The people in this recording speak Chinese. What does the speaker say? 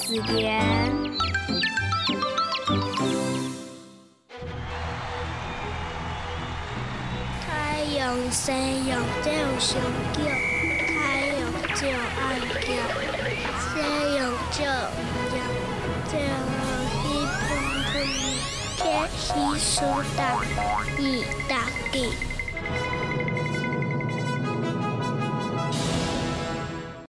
词典。 太阳西洋照上叫，太阳照暗叫，西洋照阳照西风风，天西苏打，一大地。